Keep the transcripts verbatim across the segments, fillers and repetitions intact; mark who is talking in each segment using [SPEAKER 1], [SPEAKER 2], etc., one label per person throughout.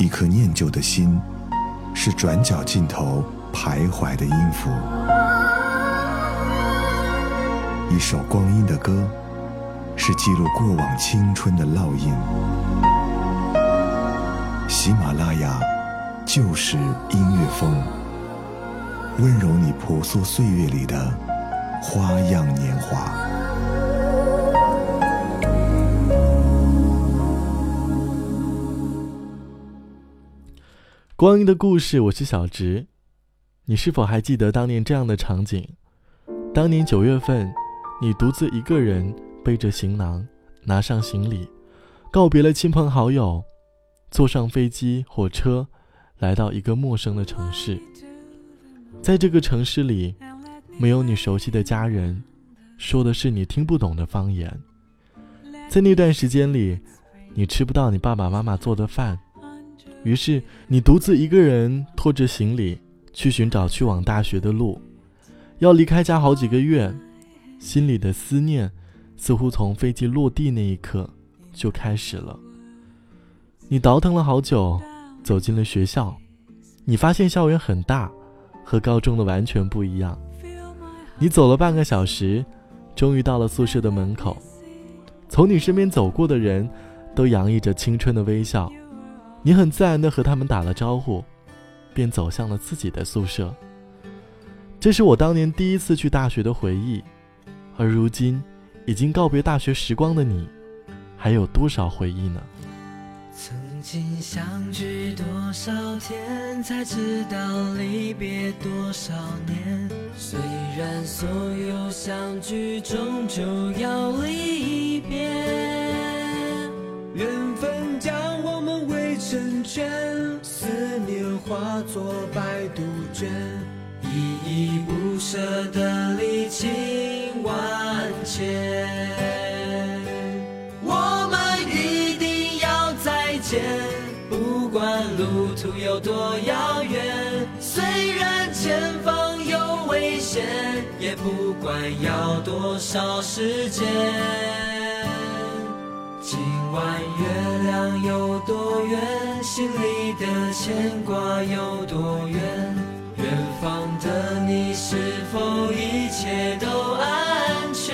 [SPEAKER 1] 一颗念旧的心，是转角尽头徘徊的音符。一首光阴的歌，是记录过往青春的烙印。喜马拉雅就是音乐风，温柔你婆娑岁月里的花样年华。
[SPEAKER 2] 光阴的故事，我是小直。你是否还记得当年这样的场景？当年九月份，你独自一个人背着行囊，拿上行李，告别了亲朋好友，坐上飞机火车，来到一个陌生的城市。在这个城市里，没有你熟悉的家人，说的是你听不懂的方言。在那段时间里，你吃不到你爸爸妈妈做的饭，于是你独自一个人拖着行李去寻找去往大学的路。要离开家好几个月，心里的思念似乎从飞机落地那一刻就开始了。你倒腾了好久，走进了学校，你发现校园很大，和高中的完全不一样。你走了半个小时，终于到了宿舍的门口。从你身边走过的人都洋溢着青春的微笑，你很自然地和他们打了招呼，便走向了自己的宿舍。这是我当年第一次去大学的回忆，而如今已经告别大学时光的你，还有多少回忆呢？
[SPEAKER 3] 曾经相聚多少天，才知道离别多少年。虽然所有相聚终究要离别，缘分将我们围成圈，思念化作百杜鹃，依依不舍的离情万千。我们一定要再见，不管路途有多遥远，虽然前方有危险，也不管要多少时间。今晚月亮有多圆，心里的牵挂有多远，远方的你是否一切都安全？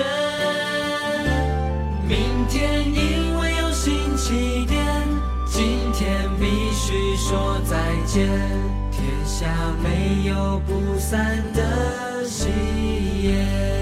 [SPEAKER 3] 明天因为有新起点，今天必须说再见，天下没有不散的喜宴。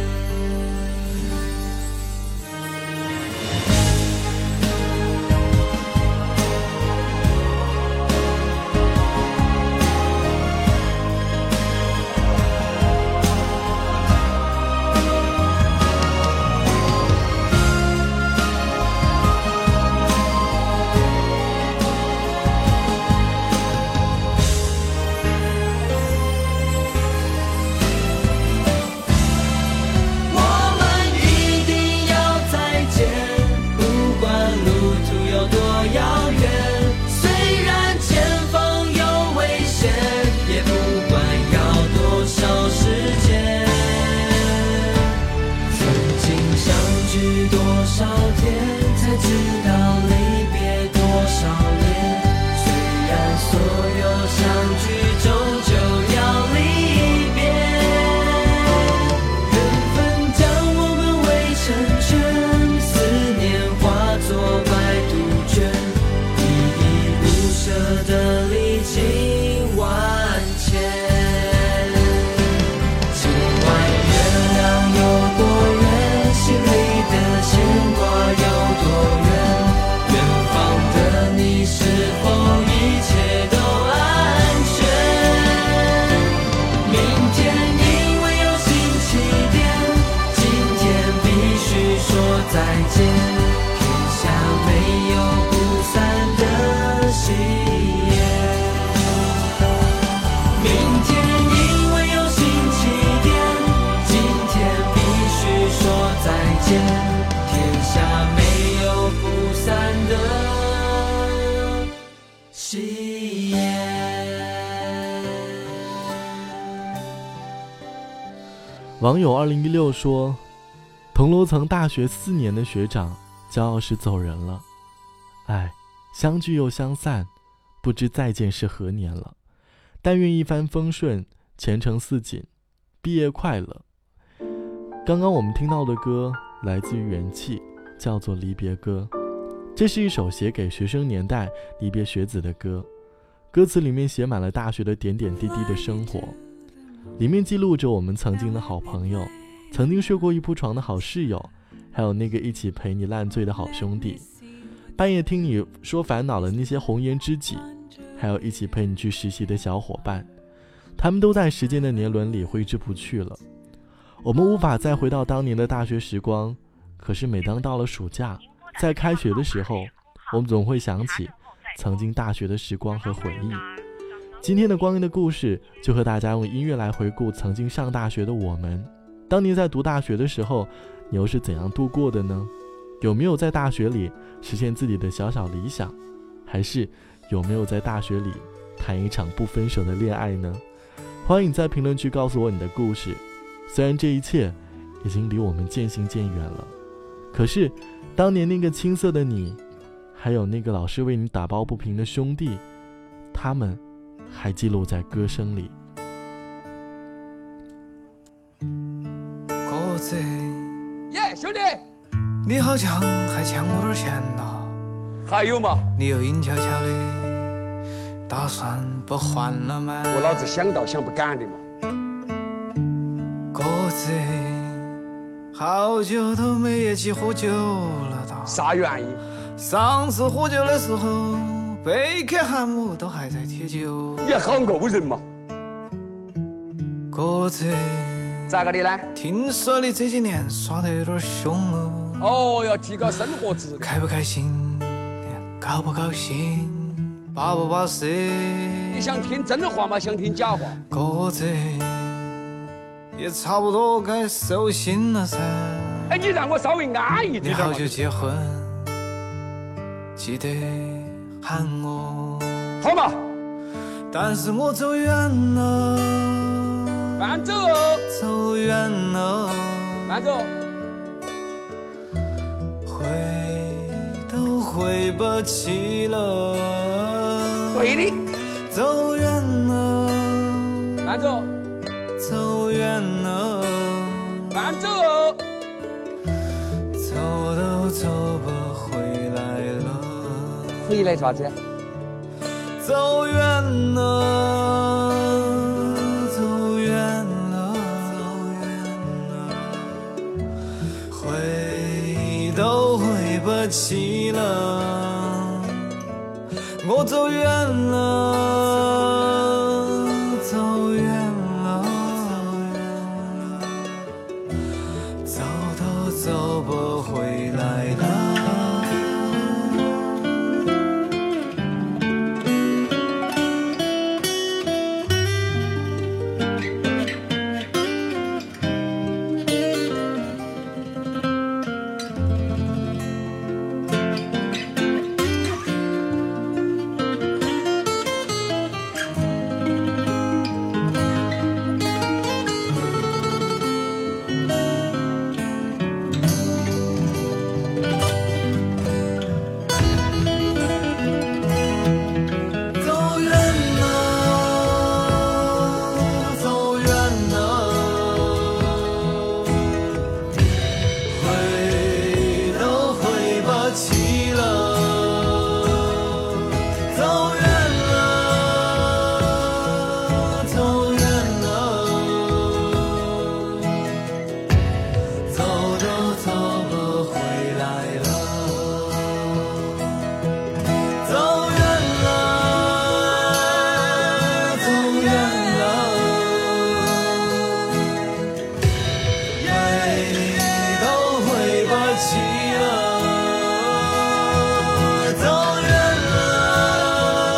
[SPEAKER 2] 网友二零一六说，同楼层大学四年的学长骄傲时走人了，唉，相聚又相散， 不知再见是何年了。但愿一帆风顺，前程似锦，毕业快乐。刚刚我们听到的歌来自于元气，叫做《离别歌》。这是一首写给学生年代离别学子的歌，歌词里面写满了大学的点点滴滴的生活，里面记录着我们曾经的好朋友，曾经睡过一铺床的好室友，还有那个一起陪你烂醉的好兄弟，半夜听你说烦恼的那些红颜知己，还有一起陪你去实习的小伙伴，他们都在时间的年轮里挥之不去了。我们无法再回到当年的大学时光，可是每当到了暑假，在开学的时候，我们总会想起曾经大学的时光和回忆。今天的光阴的故事就和大家用音乐来回顾曾经上大学的我们。当你在读大学的时候，你又是怎样度过的呢？有没有在大学里实现自己的小小理想，还是有没有在大学里谈一场不分手的恋爱呢？欢迎在评论区告诉我你的故事。虽然这一切已经离我们渐行渐远了，可是当年那个青涩的你，还有那个老是为你打抱不平的兄弟，他们还记录在歌声里。
[SPEAKER 4] 鸽子耶，兄弟，你好像还欠我点钱呐？
[SPEAKER 5] 还有嘛？
[SPEAKER 4] 你又阴悄悄的打算不还了吗？
[SPEAKER 5] 我老子想到想不敢的嘛。
[SPEAKER 4] 鸽子，好久都没一起喝酒了哒。
[SPEAKER 5] 啥原因？
[SPEAKER 4] 上次喝酒的时候，贝克汉姆都还在踢球。
[SPEAKER 5] 你好勾人嘛。
[SPEAKER 4] 鸽子，
[SPEAKER 5] 咋个的呢？
[SPEAKER 4] 听说你这几年耍得有点凶哦。
[SPEAKER 5] 哦，要提高生活质量。
[SPEAKER 4] 开不开心？高不高兴？巴不巴适？
[SPEAKER 5] 你想听真话吗？想听假话？
[SPEAKER 4] 鸽子，也差不多该收心了噻。
[SPEAKER 5] 哎，你让我稍微安逸点。
[SPEAKER 4] 你好久结婚？记得喊我。
[SPEAKER 5] 好嘛。
[SPEAKER 4] 但是我走远了。
[SPEAKER 5] 慢走。
[SPEAKER 4] 走远了。
[SPEAKER 5] 慢走。
[SPEAKER 4] 回都回不去了。
[SPEAKER 5] 对的。
[SPEAKER 4] 走远了。
[SPEAKER 5] 慢走。
[SPEAKER 4] 走远了。
[SPEAKER 5] 慢走。
[SPEAKER 4] 走都走不回来了。
[SPEAKER 5] 回来啥子？
[SPEAKER 4] 走远了，走远了，走远了，回都回不去了。我走远了，走远了，走都走不回来了。走远了，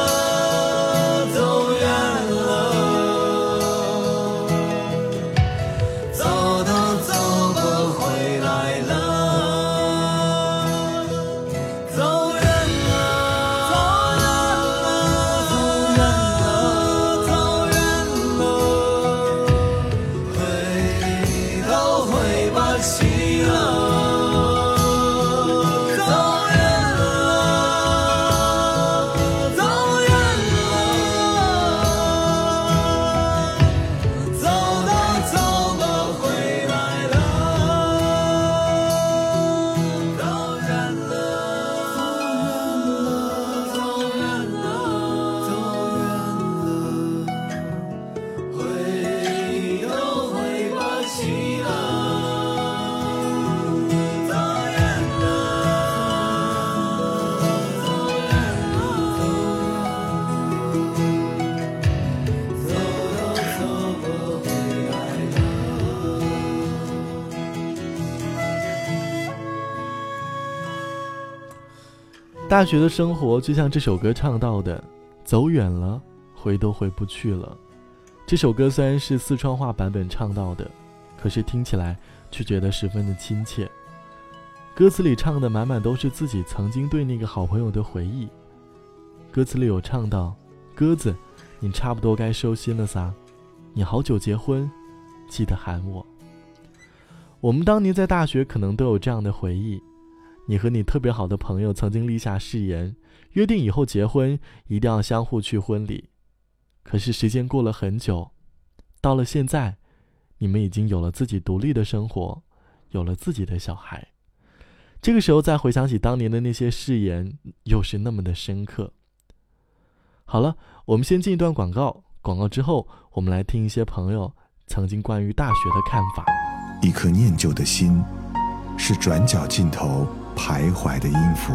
[SPEAKER 2] 大学的生活就像这首歌唱到的，走远了，回都回不去了。这首歌虽然是四川话版本唱到的，可是听起来却觉得十分的亲切。歌词里唱的满满都是自己曾经对那个好朋友的回忆。歌词里有唱到，鸽子，你差不多该收心了撒，你好久结婚，记得喊我。我们当年在大学可能都有这样的回忆，你和你特别好的朋友曾经立下誓言，约定以后结婚一定要相互去婚礼。可是时间过了很久，到了现在，你们已经有了自己独立的生活，有了自己的小孩。这个时候再回想起当年的那些誓言，又是那么的深刻。好了，我们先进一段广告，广告之后我们来听一些朋友曾经关于大学的看法。
[SPEAKER 1] 一颗念旧的心，是转角尽头徘徊的音符；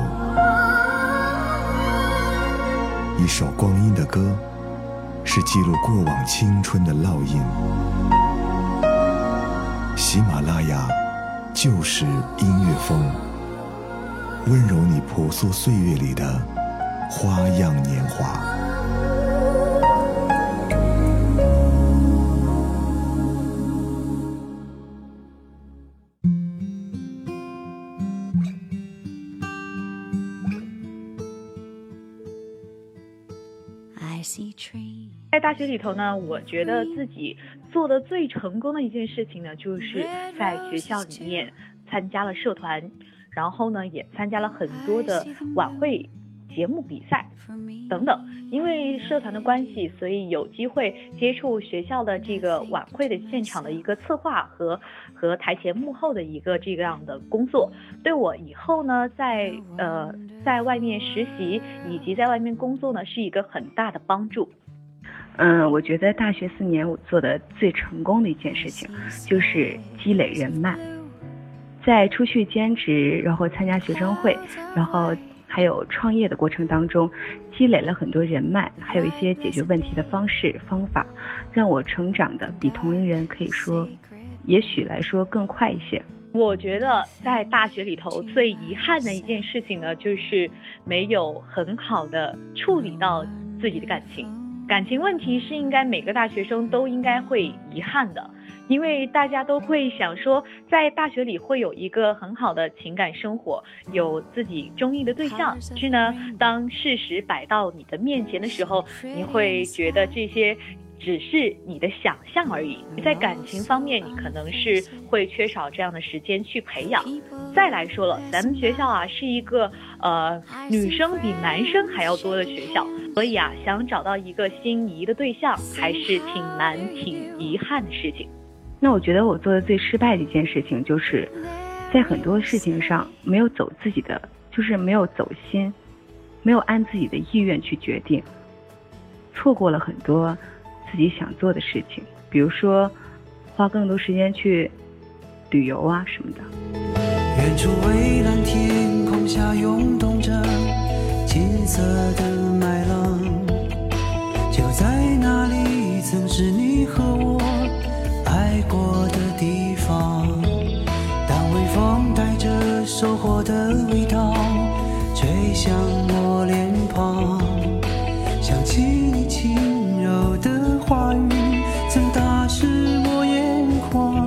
[SPEAKER 1] 一首光阴的歌，是记录过往青春的烙印。喜马拉雅就是音乐风，温柔你朴素岁月里的花样年华。
[SPEAKER 6] 在大学里头呢，我觉得自己做的最成功的一件事情呢，就是在学校里面参加了社团，然后呢也参加了很多的晚会、节目比赛等等。因为社团的关系，所以有机会接触学校的这个晚会的现场的一个策划和和台前幕后的一个这样的工作，对我以后呢在呃在外面实习以及在外面工作呢是一个很大的帮助。
[SPEAKER 7] 嗯，我觉得大学四年我做的最成功的一件事情就是积累人脉，在出去兼职，然后参加学生会，然后还有创业的过程当中，积累了很多人脉，还有一些解决问题的方式方法，让我成长的比同龄人可以说也许来说更快一些。
[SPEAKER 6] 我觉得在大学里头最遗憾的一件事情呢，就是没有很好的处理到自己的感情。感情问题是应该每个大学生都应该会遗憾的，因为大家都会想说在大学里会有一个很好的情感生活，有自己中意的对象，但是呢当事实摆到你的面前的时候，你会觉得这些只是你的想象而已。在感情方面你可能是会缺少这样的时间去培养。再来说了，咱们学校啊是一个呃女生比男生还要多的学校，所以啊想找到一个心仪的对象还是挺难挺遗憾的事情。
[SPEAKER 7] 那我觉得我做的最失败的一件事情，就是在很多事情上没有走自己的，就是没有走心，没有按自己的意愿去决定，错过了很多自己想做的事情，比如说花更多时间去旅游啊什么的。
[SPEAKER 3] 远处蔚蓝天空下涌动着金色的麦浪，就在那里曾是你和我爱过的地方。当微风带着收获的味道吹向我脸庞，想起你轻柔的话语曾打湿我眼眶。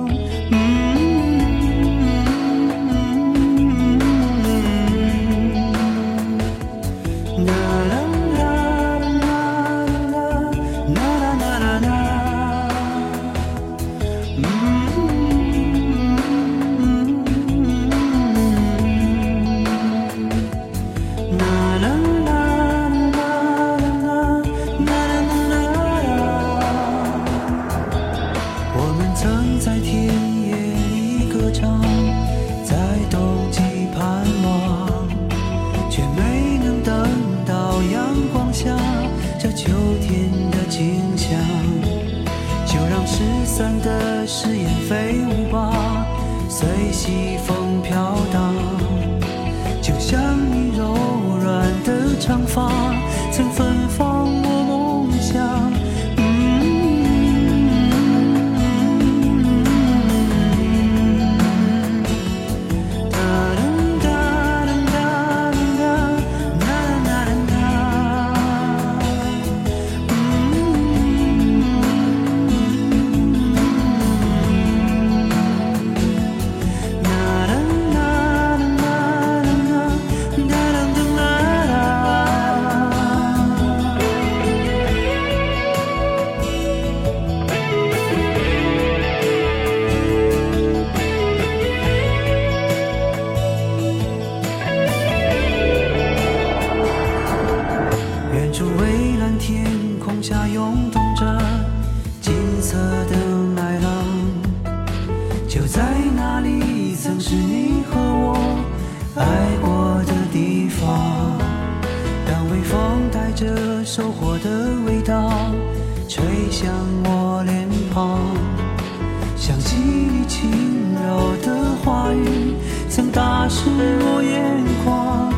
[SPEAKER 3] 誓言飞舞吧，随西风飘荡，就像你柔软的长发曾芬芳我梦想。哒哒哒哒哒
[SPEAKER 4] 处蔚蓝天空下涌动着金色的麦浪，就在那里曾是你和我爱过的地方。当微风带着收获的味道吹向我脸庞，想起你轻柔的话语曾打湿我眼眶。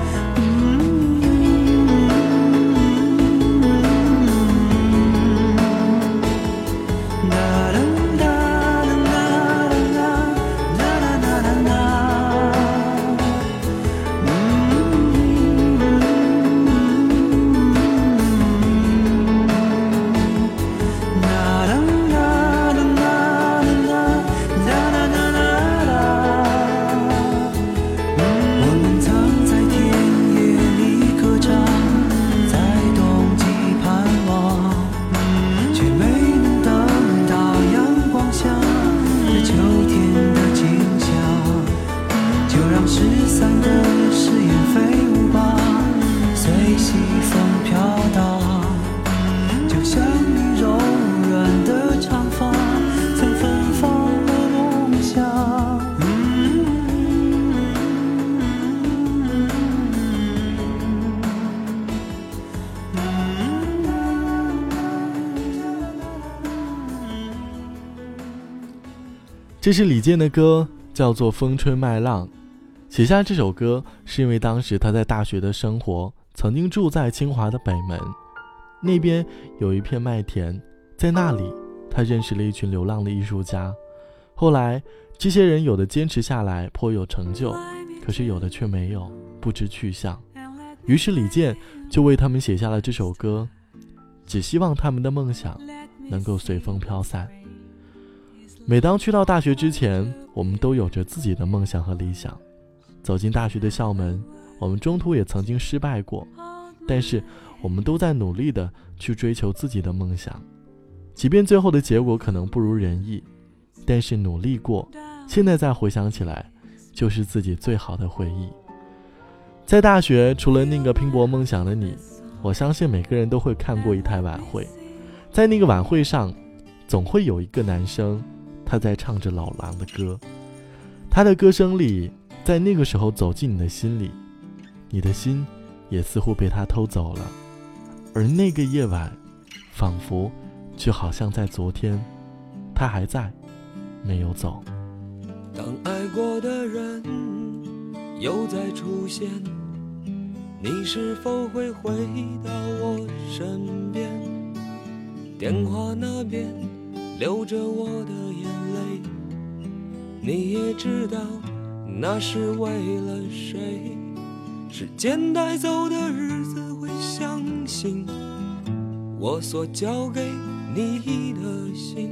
[SPEAKER 2] 这是李健的歌，叫做《风吹麦浪》。写下这首歌是因为当时他在大学的生活曾经住在清华的北门，那边有一片麦田，在那里他认识了一群流浪的艺术家。后来这些人有的坚持下来颇有成就，可是有的却没有，不知去向。于是李健就为他们写下了这首歌，只希望他们的梦想能够随风飘散。每当去到大学之前，我们都有着自己的梦想和理想。走进大学的校门，我们中途也曾经失败过，但是我们都在努力的去追求自己的梦想。即便最后的结果可能不如人意，但是努力过，现在再回想起来，就是自己最好的回忆。在大学，除了那个拼搏梦想的你，我相信每个人都会看过一台晚会。在那个晚会上，总会有一个男生，他在唱着老狼的歌，他的歌声里，在那个时候走进你的心里，你的心也似乎被他偷走了。而那个夜晚，仿佛就好像在昨天，他还在，没有走。
[SPEAKER 3] 当爱过的人又再出现，你是否会回到我身边？电话那边流着我的眼泪，你也知道那是为了谁。时间带走的日子会相信我所交给你的心，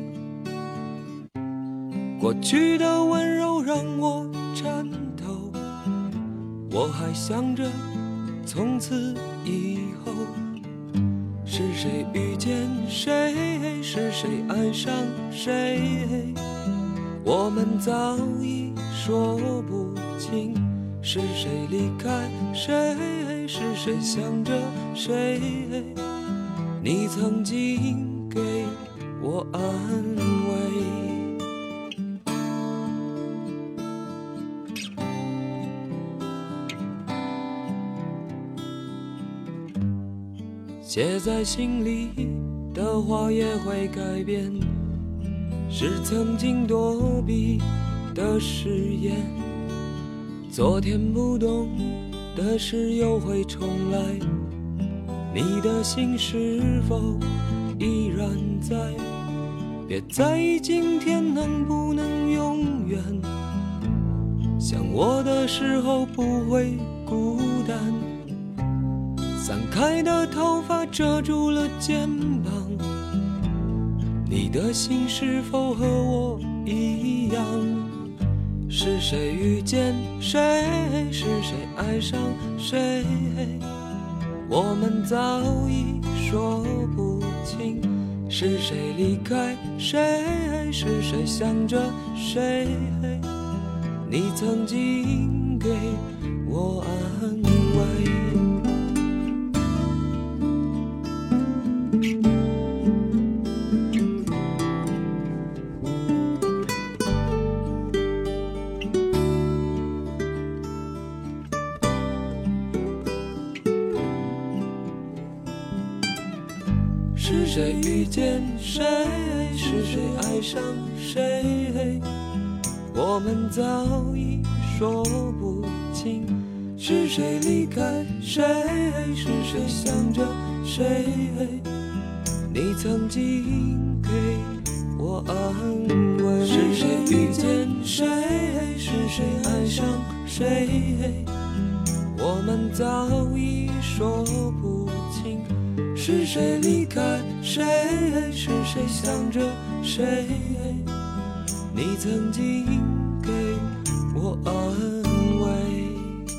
[SPEAKER 3] 过去的温柔让我颤抖，我还想着从此以后是谁遇见谁，是谁爱上谁，我们早已说不清，是谁离开谁，是谁想着谁，你曾经给我安慰。写在心里的话也会改变，是曾经躲避的誓言，昨天不懂的事又会重来，你的心是否依然在？别在意今天能不能永远，想我的时候不会孤单，散开的头发遮住了肩膀，你的心是否和我一样？是谁遇见谁，是谁爱上谁，我们早已说不清，是谁离开谁，是谁想着谁，你曾经给我安慰。 是谁遇见谁，是谁爱上谁，我们早已说不清。是谁离开谁，是谁想着谁，你曾经给我安慰。是谁遇见谁，是谁爱上谁，我们早已说不清。是谁离开谁，是谁想着谁，你曾经给我安慰。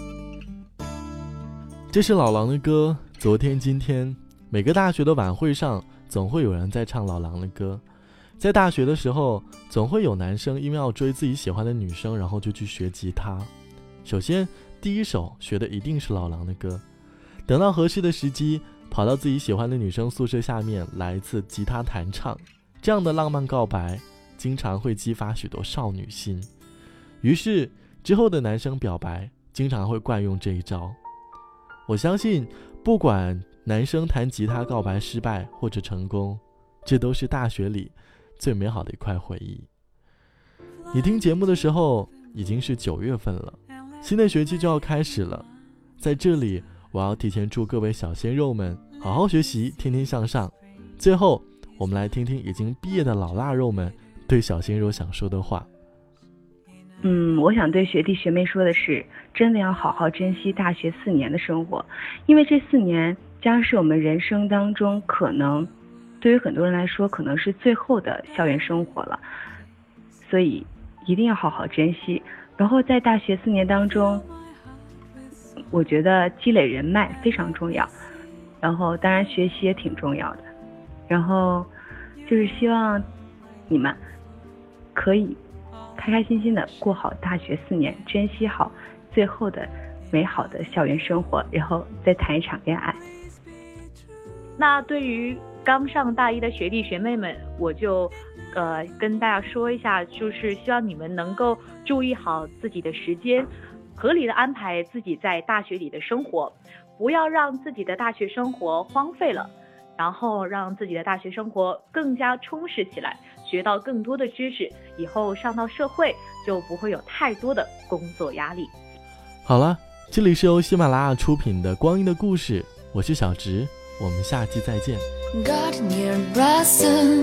[SPEAKER 2] 这是老狼的歌，昨天今天，每个大学的晚会上总会有人在唱老狼的歌。在大学的时候，总会有男生因为要追自己喜欢的女生，然后就去学吉他。首先第一首学的一定是老狼的歌，等到合适的时机，跑到自己喜欢的女生宿舍下面来一次吉他弹唱。这样的浪漫告白经常会激发许多少女心，于是之后的男生表白经常会惯用这一招。我相信不管男生弹吉他告白失败或者成功，这都是大学里最美好的一块回忆。你听节目的时候已经是九月份了，新的学期就要开始了。在这里我要提前祝各位小鲜肉们好好学习，天天向上。最后我们来听听已经毕业的老腊肉们对小鲜肉想说的话。
[SPEAKER 7] 嗯，我想对学弟学妹说的是，真的要好好珍惜大学四年的生活，因为这四年将是我们人生当中可能对于很多人来说可能是最后的校园生活了，所以一定要好好珍惜。然后在大学四年当中，我觉得积累人脉非常重要，然后当然学习也挺重要的，然后就是希望你们可以开开心心的过好大学四年，珍惜好最后的美好的校园生活，然后再谈一场恋爱。
[SPEAKER 6] 那对于刚上大一的学弟学妹们，我就呃跟大家说一下，就是希望你们能够注意好自己的时间，合理的安排自己在大学里的生活，不要让自己的大学生活荒废了，然后让自己的大学生活更加充实起来，学到更多的知识，以后上到社会就不会有太多的工作压力。
[SPEAKER 2] 好了，这里是由喜马拉雅出品的光阴的故事，我是小直，我们下期再见。
[SPEAKER 8] Gardener blossom,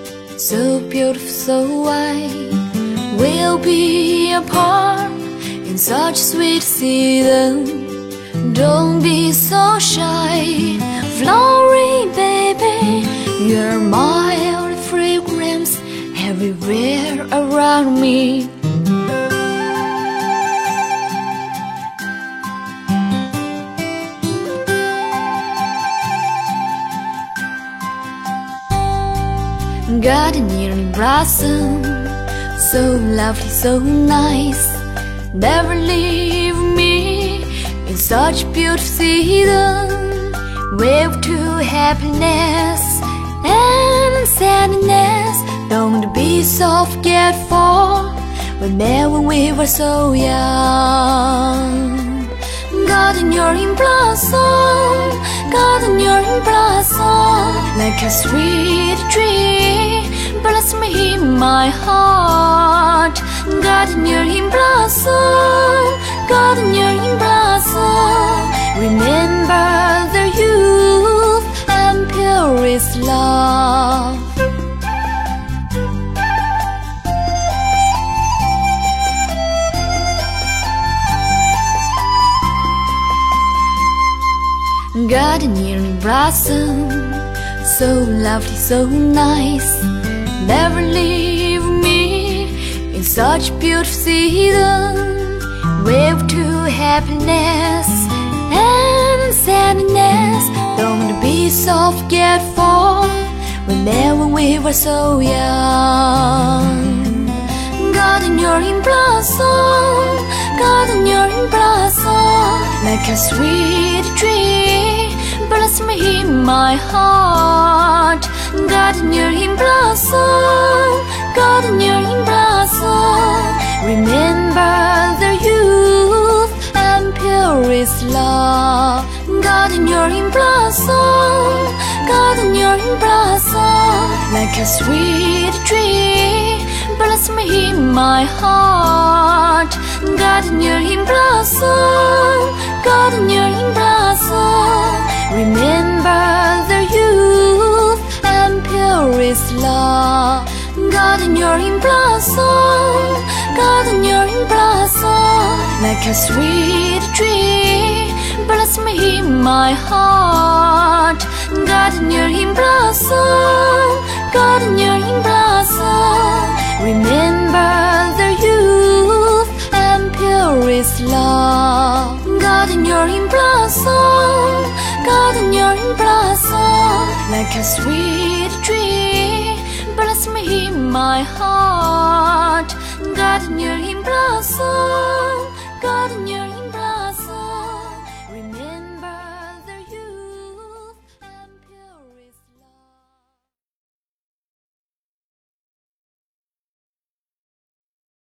[SPEAKER 8] so beautiful, so white, we'll be apart in such sweet season. Don't be so shy, flowery baby, you're mild fragrance everywhere around me. Gardener blossom, so lovely, so nice, never leave me in such beautiful season. Wave to happiness and sadness, don't be so forgetful, whenever we were so young. Gardener in blossom, gardener in blossom, like a sweet tree, blossom in my heart. Gardener in blossom, gardener in blossom, remember the youth and purest love. Gardener in blossom, so lovely, so nice, never leave me in such beautiful season. Wave to happiness and sadness, don't be so forgetful, whenever we were so young. Gardener in blossom, gardener in blossom, like a sweet tree, blossom in my heart. Gardener in blossom, gardener in blossom, remember the youth and purest love. Gardener in blossom, gardener in blossom, like a sweet tree. Bless me, my heart. Gardener in blossom, gardener in blossom. Remember the youth and purest love. Gardener in blossom, gardener in blossom, like a sweet tree. Bless me, my heart. Gardener in blossom, gardener in blossom. Remember the youth and purest love. Gardener in blossom, gardener in blossom, like a sweet tree. Bless me, my heart. Gardener in blossom, gardener